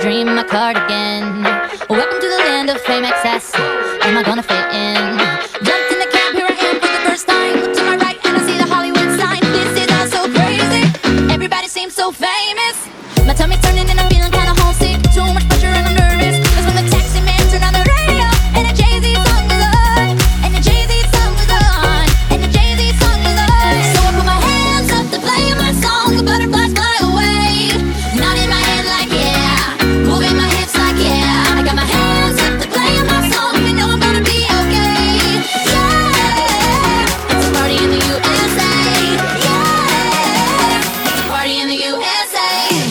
dream in my cardigan. Welcome to the land of fame excess. Am I gonna fit in? Jumped in the cab, here I am for the first time. Look to my right and I see the Hollywood sign. This is all so crazy. Everybody seems so famous. My tummy's turning and I'm feeling kinda homesick. Too much pressure and I'm nervous. That's when the taxi man turned on the radio and a Jay-Z song was on. And the Jay-Z song was on. And the Jay-Z song was on. So I put my hands up to play my song. The butterflies fly away. Nodding my head like yeah. Moving my hips like yeah. I got my hands up to play my song. You know I'm gonna be okay. Yeah. It's a party in the USA. Yeah. It's a party in the USA.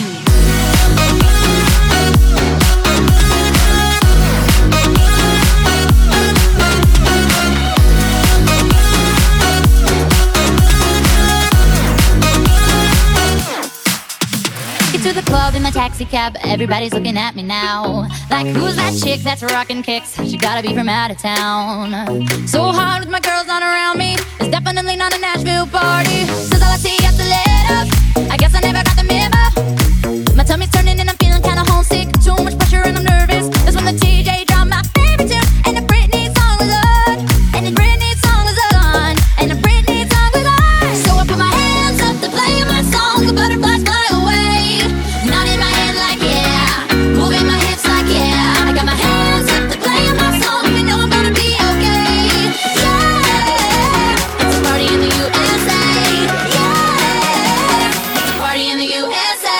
To the club in my taxi cab, everybody's looking at me now. Like, who's that chick that's rockin' kicks? She gotta be from out of town. So hard with my girls not around me. It's definitely not a Nashville party. Says all I see after let up. I guess I never got the memo. My tummy's turning and I'm feeling kinda homesick. Too much pressure and I'm nervous. That's when the TJ dropped my favorite tune. And the Britney song was on. And the Britney song was on. And the Britney song was on. So I put my hands up to play my song. The butterflies fly away. Nodding my head like yeah. Moving my hips like yeah. I got my hands up to play my song. You know I'm gonna be okay. Yeah. It's a party in the USA. Yeah. It's a party in the USA.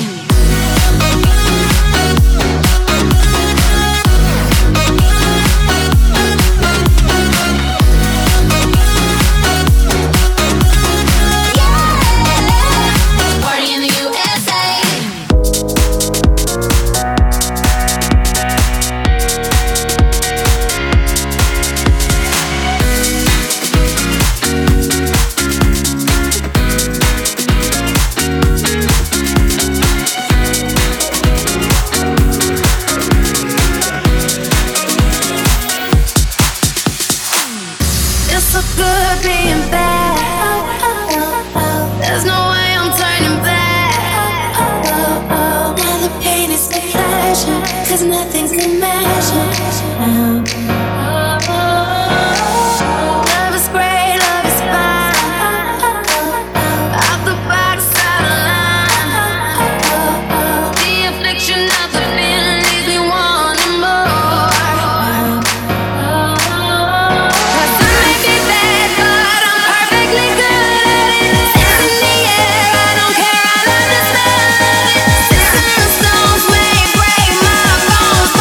Party in the USA. It's so good being back. There's no way I'm turning back. Now the pain is the pleasure, 'cause nothing's in measure. Love is great, love is fine. Off the box, out of line. The affliction of the feeling leaves me wanting more. I may be bad, but I'm perfectly good at it. Hands in the air, I don't care, I understand it. Sticks and stones may break my bones,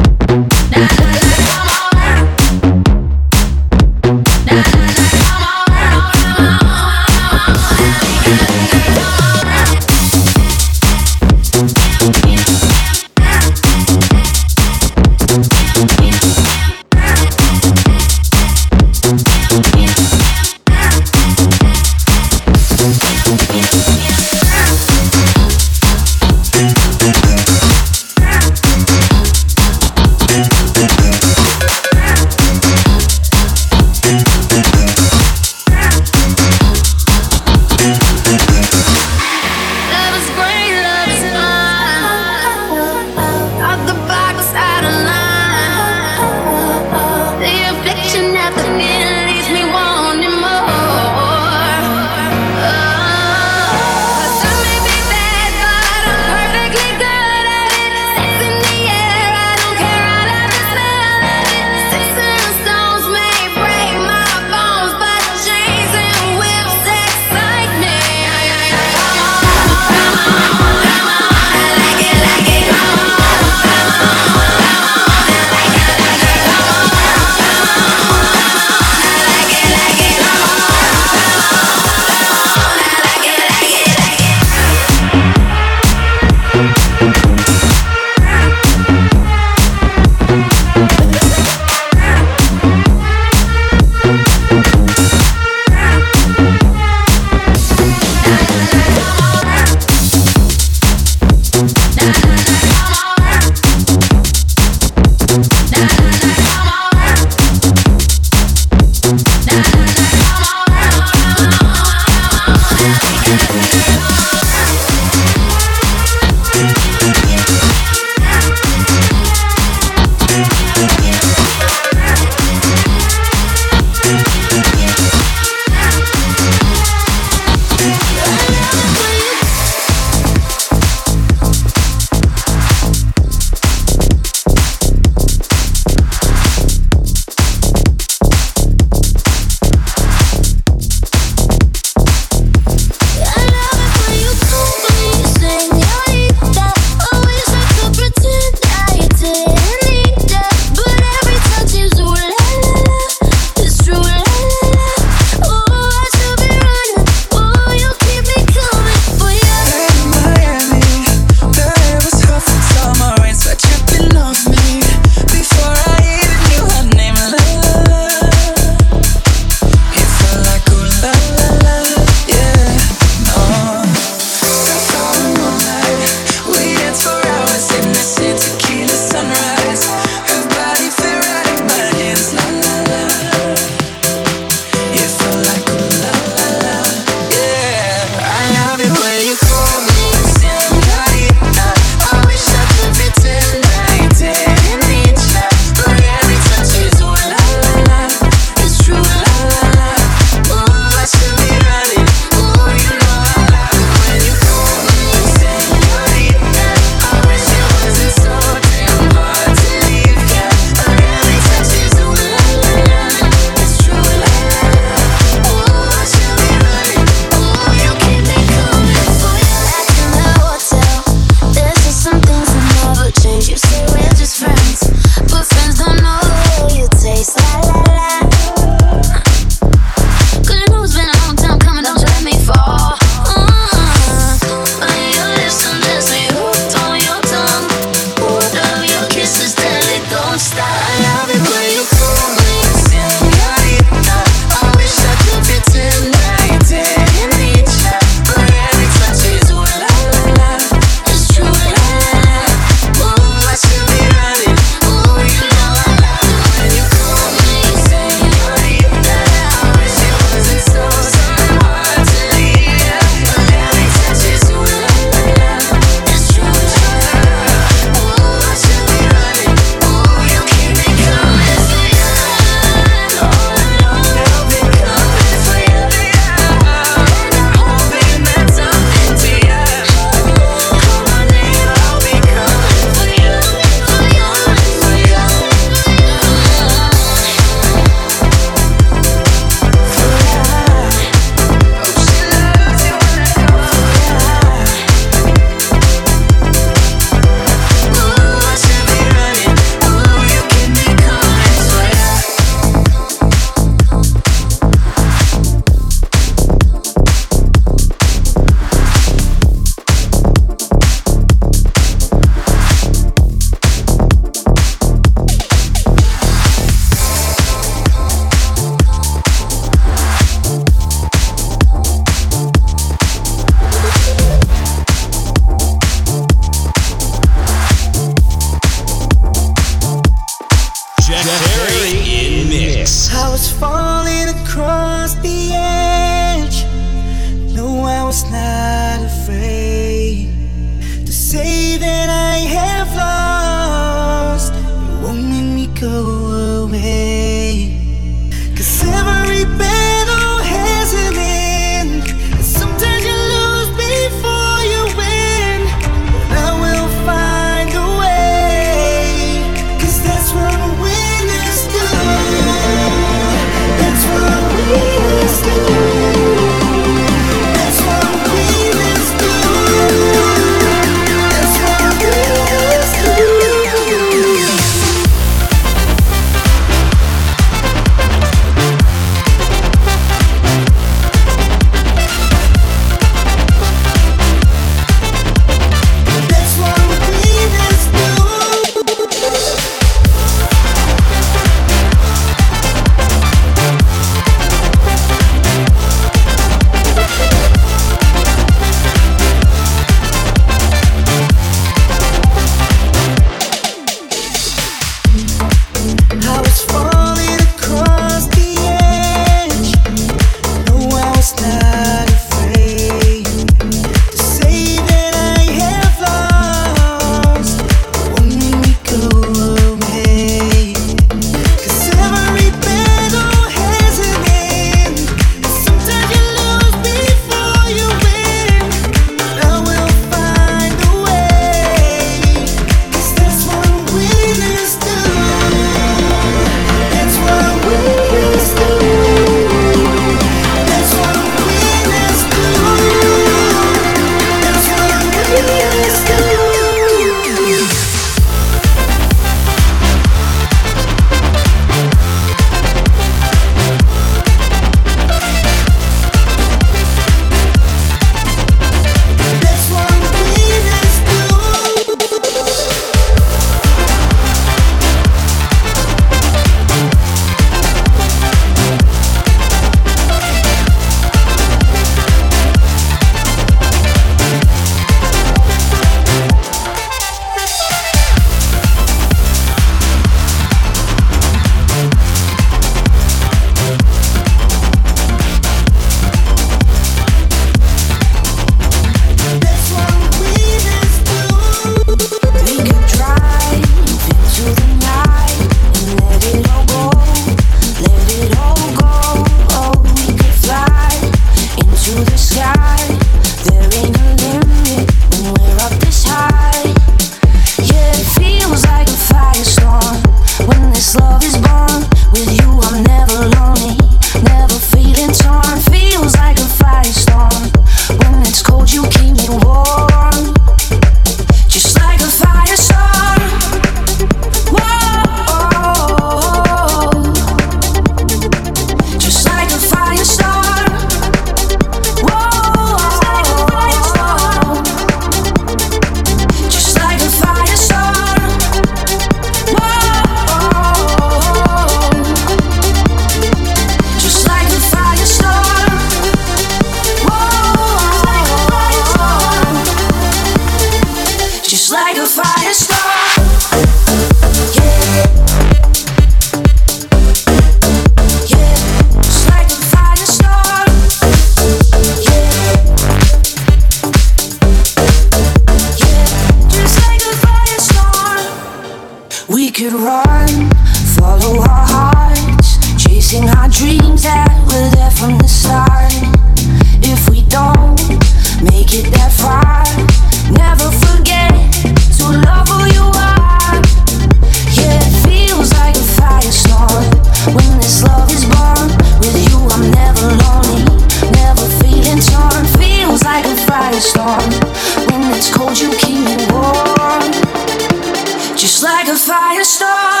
could run, follow our hearts, chasing our dreams that were there from the start. If we don't make it that far, never forget to love who you are. Yeah, it feels like a firestorm when this love is born. With you I'm never lonely, never feeling torn. Feels like a firestorm when it's cold you keep me warm. Just like a firestorm.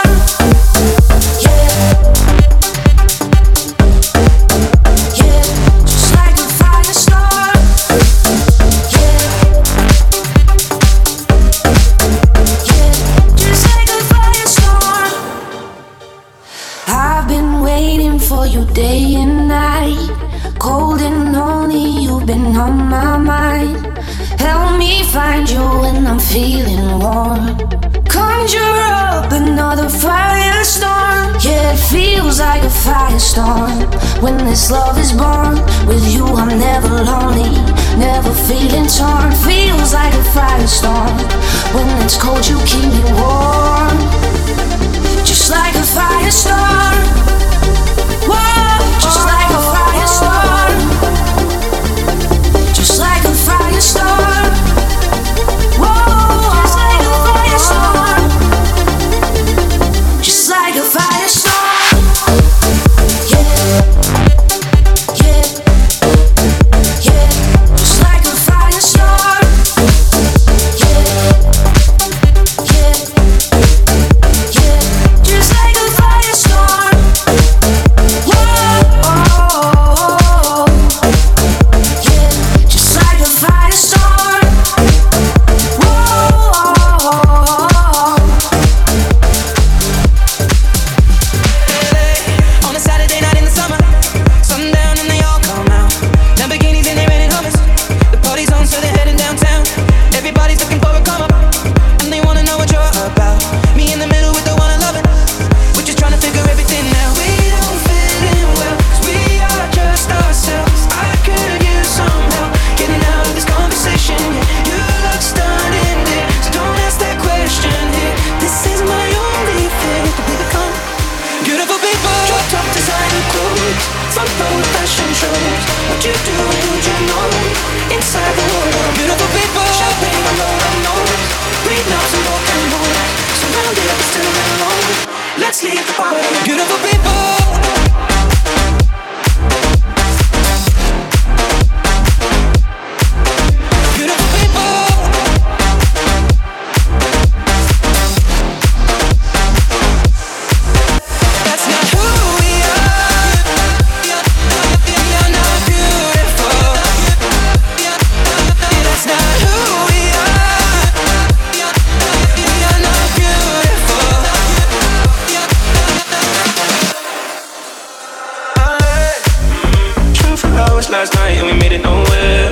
Day and night, cold and lonely, you've been on my mind. Help me find you when I'm feeling warm. Conjure up another firestorm. Yeah, it feels like a firestorm when this love is born. With you I'm never lonely, never feeling torn. Feels like a firestorm when it's cold you keep me warm. Just like a firestorm. Whoa, just like a firestorm. Just like a firestorm. Whoa, just like a firestorm. Just like a firestorm. Yeah, yeah, yeah. Just like a firestorm. Yeah, yeah, yeah. Just like a firestorm. Last night and we made it nowhere.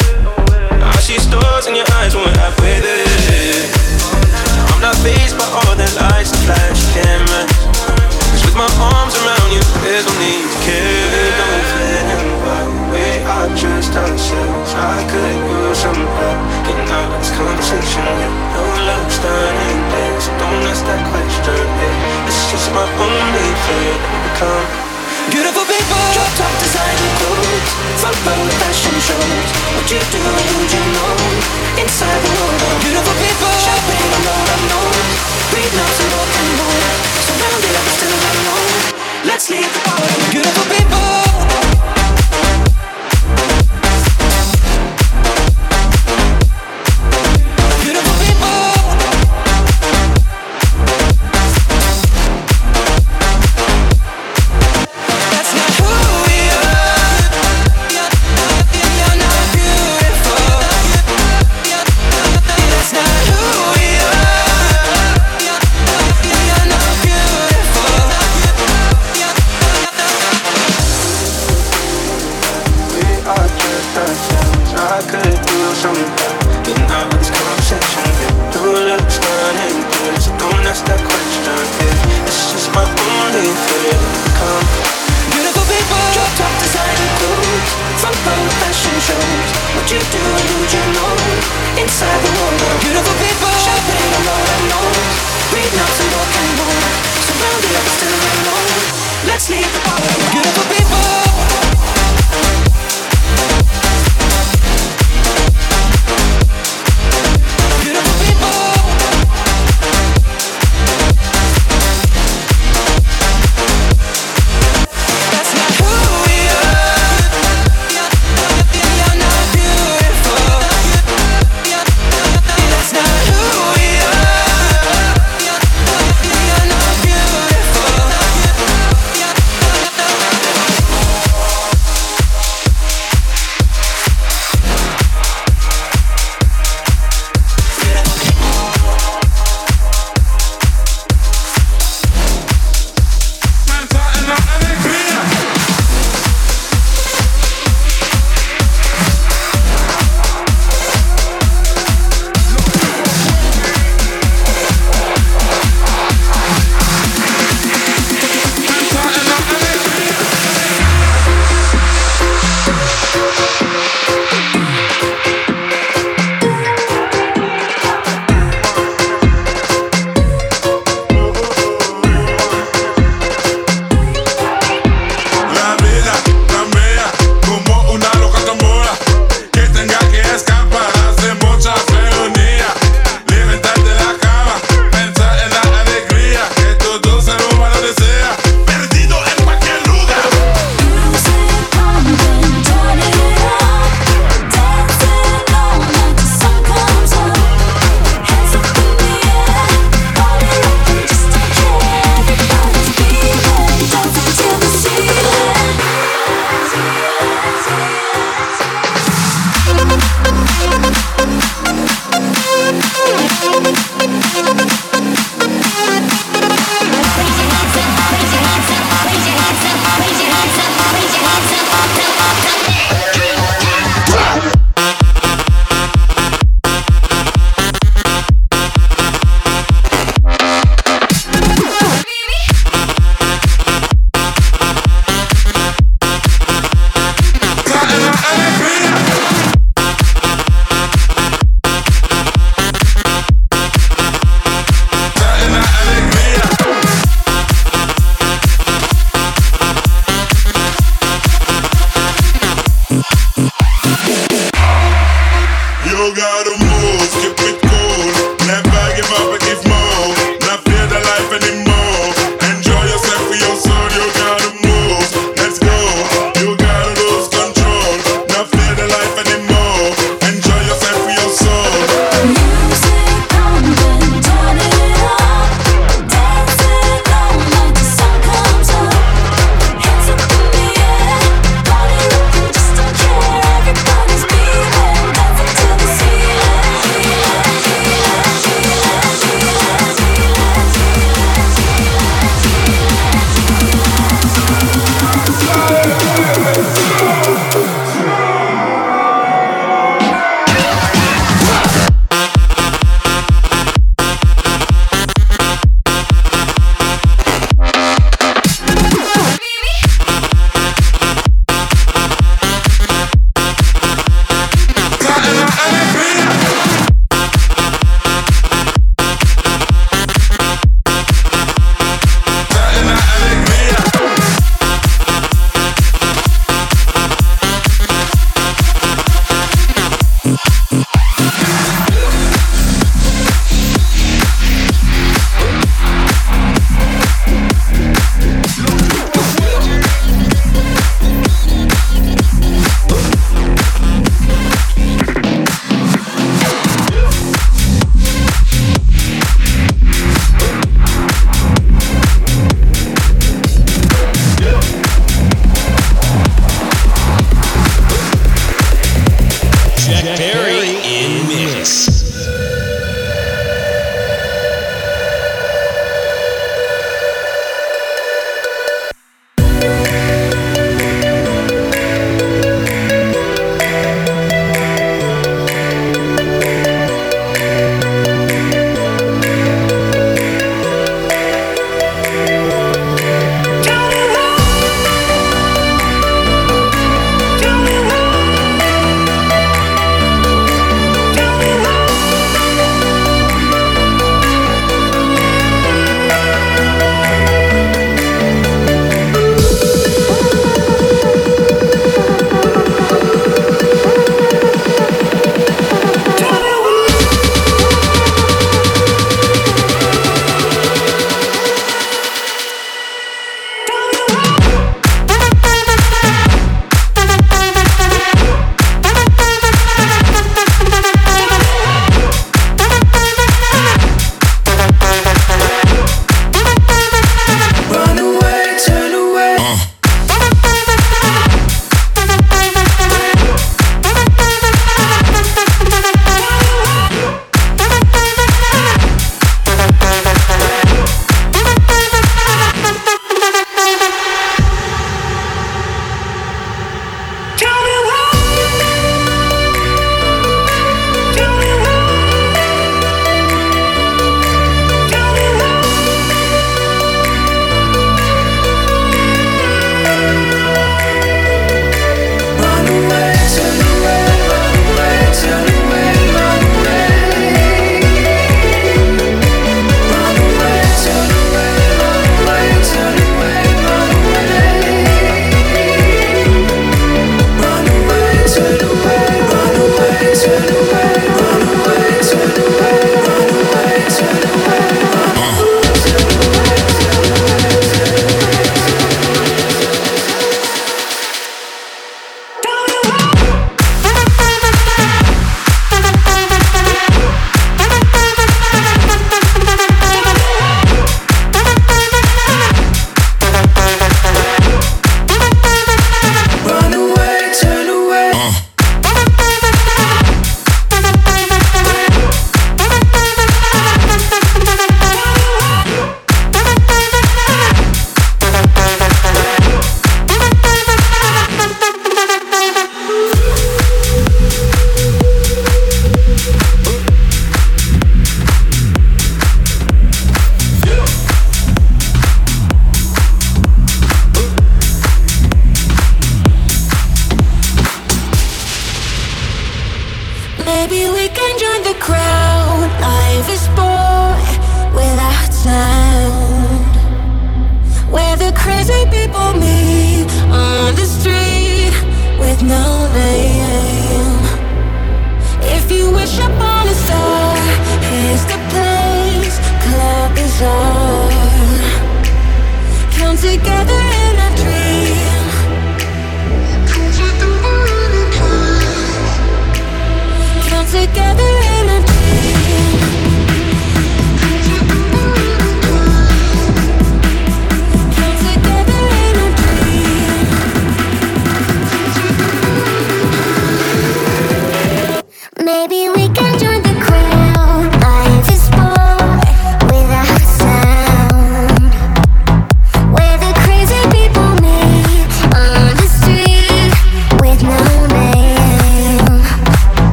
I see stars in your eyes when we're halfway there. I'm not fazed by all the lights and flash cameras. 'Cause with my arms around you, there's no need to care. Don't fit in by the way I trust ourselves. I could use some help getting out of this conversation. No love starting there, so don't ask that question. It's just my only fear that we become beautiful people. Drop top designer clothes, front row fashion shows. What you do and who you know inside the world of beautiful people. Shopping on all I know, breathe notes and rock and roll. Surrounded but still alone. Let's leave the party. Beautiful people. You're not beautiful. That's not who we are.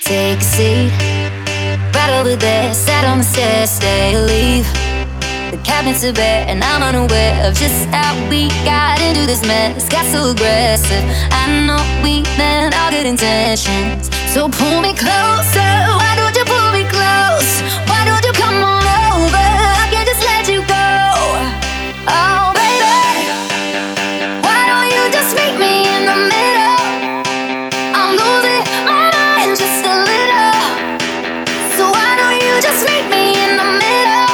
take a seat. Right over there, sat on the stairs, stay or leave. The cabinets are bare and I'm unaware of just how we got into this mess. Got so aggressive, I know we meant all good intentions. So pull me closer, why don't you pull me close? Why don't you come on over, I can't just let you go. Oh baby, why don't you just meet me in the middle? I'm losing my mind just a little. So why don't you just meet me in the middle?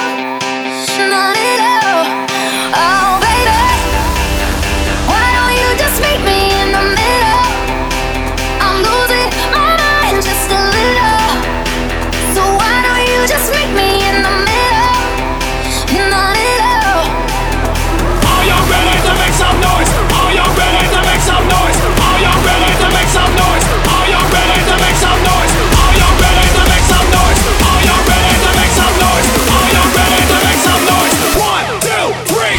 Oh baby, why don't you just meet me in the middle? I'm losing my mind just a little. So why don't you just meet me in the middle? In the middle. Are you ready to make some noise? Are you ready to make some noise? Are you ready to make some noise? Are you ready to make some noise? Are you ready to make some noise? Are you ready to make some noise? Are you ready to make some noise? 1, 2, 3.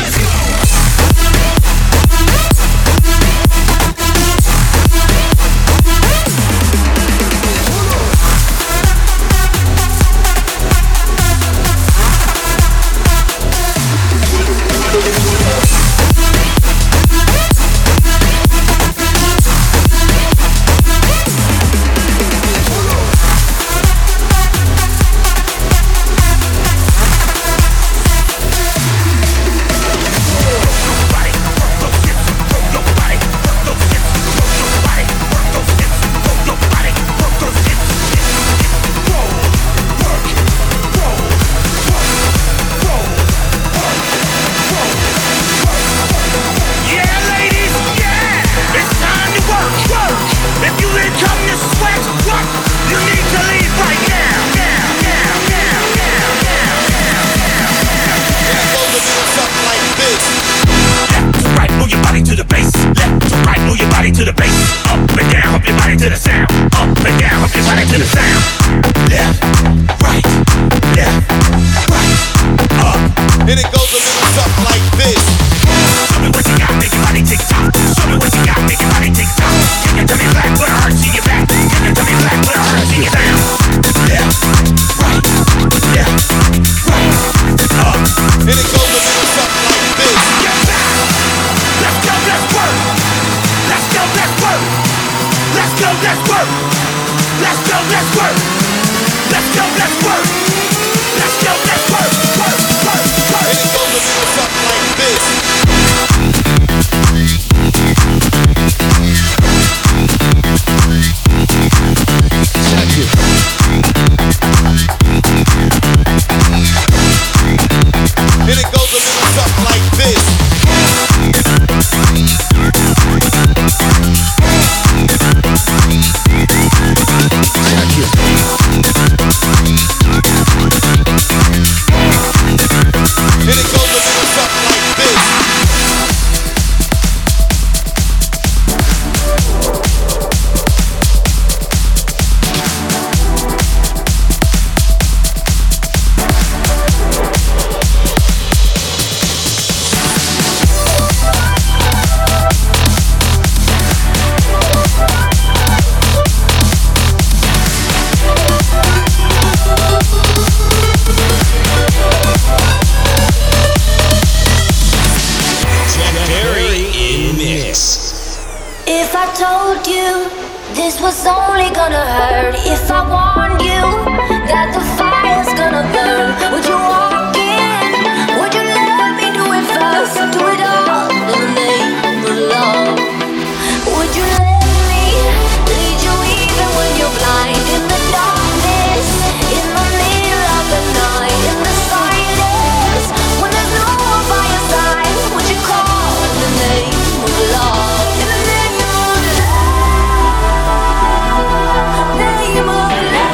To the bass, up and down, hump your body to the sound. Up and down, hump your body to the sound. Left, right, up. And it goes a little something like this. Show me what you got, make your body tick tock. Show me what you got, make your body tick tock. Can you tell me black, put a heart in your back? Can you tell me black, put a heart in your down? Left, right, up. And it goes a little something like this. Get back. Let's go, let's work. Let's go, let's work. Let's go, let's work. Let's go, let's work. Let's go, let's work. Let's go, let's work. Work, work, work. And it goes a little something like this. Check it. And it goes a little something like this. Check it. And it goes a little something like this. If I told you this was only gonna hurt, if I warned you that the fire's gonna burn, would you walk in? Would you let me do it first? Do it all in the name of love. Would you let me lead you even when you're blind? In the darkness, in the middle of the night, in the silence, when there's no one by your side, would you call in the name of love? In the name of love, name of love.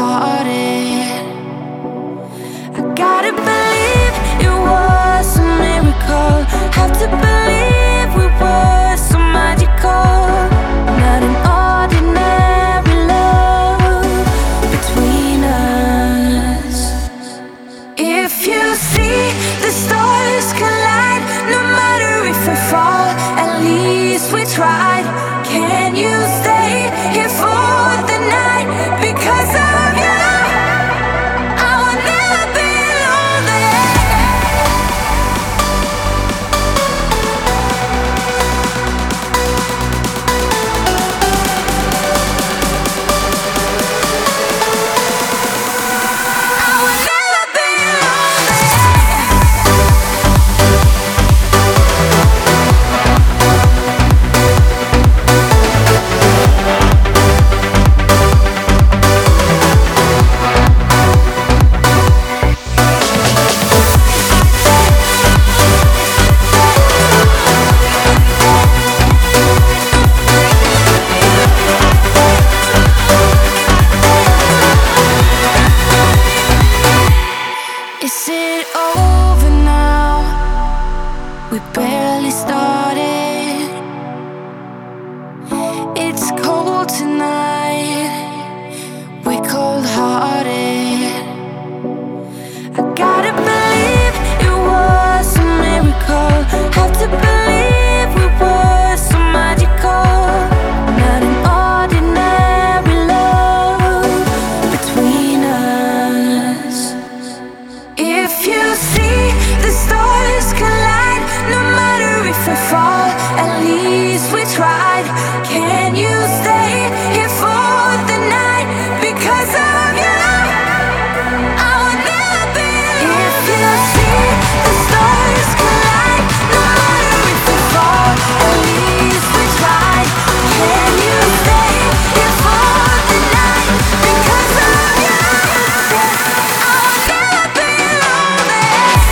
hearted. I gotta believe it was a miracle. Have to believe we were so magical. Not an ordinary love between us. If you see the stars collide, no matter if we fall, at least we tried. Can you stay here for the night? Because of you, I will never be lonely. I will never be Is it over now? We barely started. It's cold tonight. We're cold-hearted. I gotta believe it was a miracle. Have to believe we were so magical. Not an ordinary love between us. If you see the stars collide, no matter if we fall, at least we tried. Can you stay here for the night? Because of you, I will never be alone. If you see the stars collide, no matter if we fall, at least we tried. Can you stay here for the night? Because of you, I will never be lonely.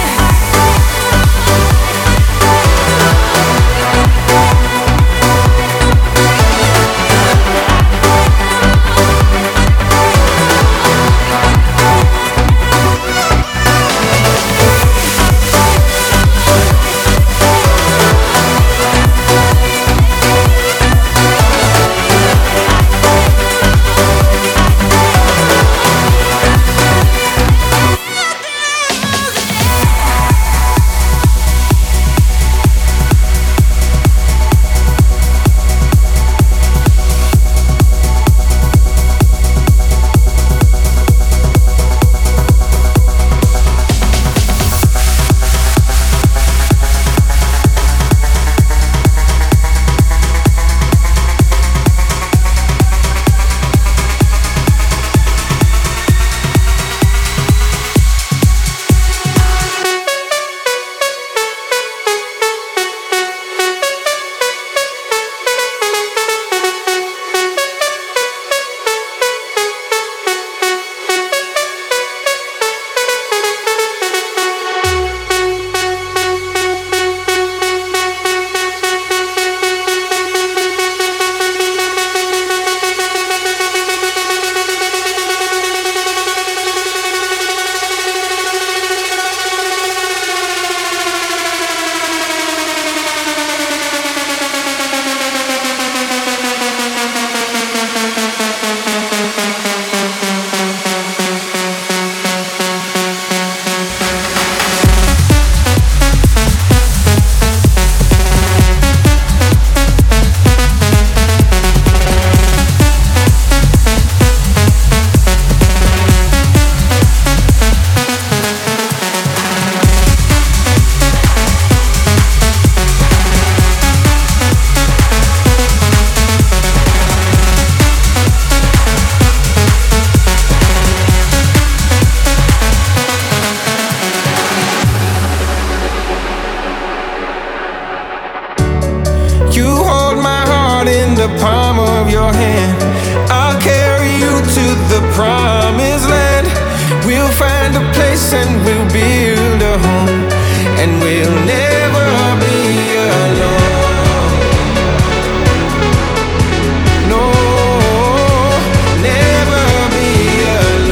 the palm of your hand. I'll carry you to the promised land. We'll find a place and we'll build a home, and we'll never be alone. No, never be alone.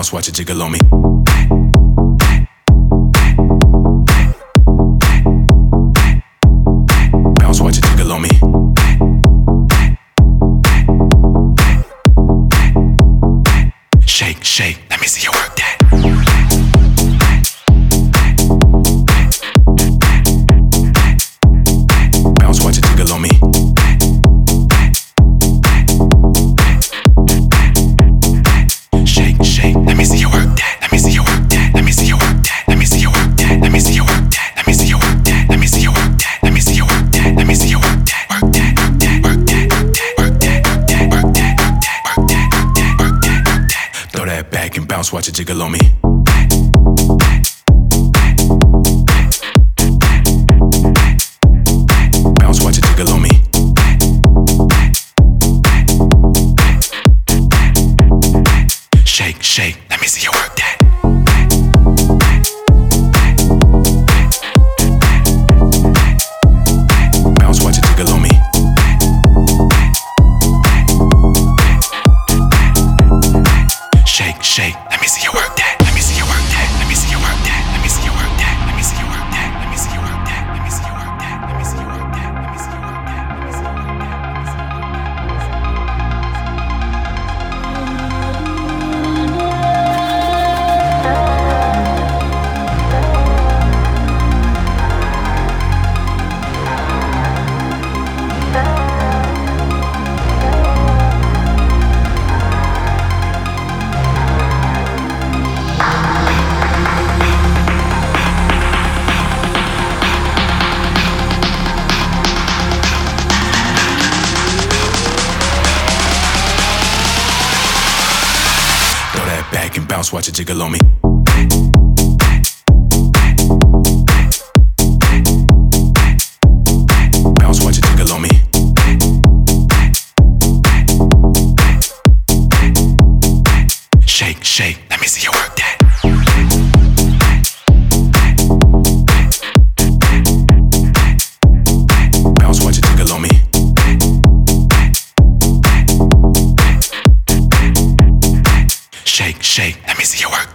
Bounce, watch it jiggle on me. Bounce, watch it jiggle on me. Shake, shake, let me see you work that. Bounce, watch it jiggle on me. Shake, shake, let me see you work that. Let me see you work that. Let me see you work that. Let me see you work that. Let me see you work that. Let me see you work that. Let me see you work that. Let me see you work that. Let me see you work that. Work that, work that, work that, work that, work that, work that, work that, work that. Throw that back and bounce, watch it jiggle on me. Bounce, watch it jiggle on me. Shake, shake, let me see you work that. Bounce, watch it jiggle on me. Shake, shake, let me see you work that. Let me see you work that. Let me see you work that. Let me see you work that. Let me see you work that. Let me see you work that. Let me see you work that. Let me see you work that. Let me see you work that. Let me see you work back and bounce, watch it jiggle on me. Bounce, watch it jiggle on me. Shake, shake, let me see you work that. Bounce, watch it jiggle on me. Shake, shake, let me see you work.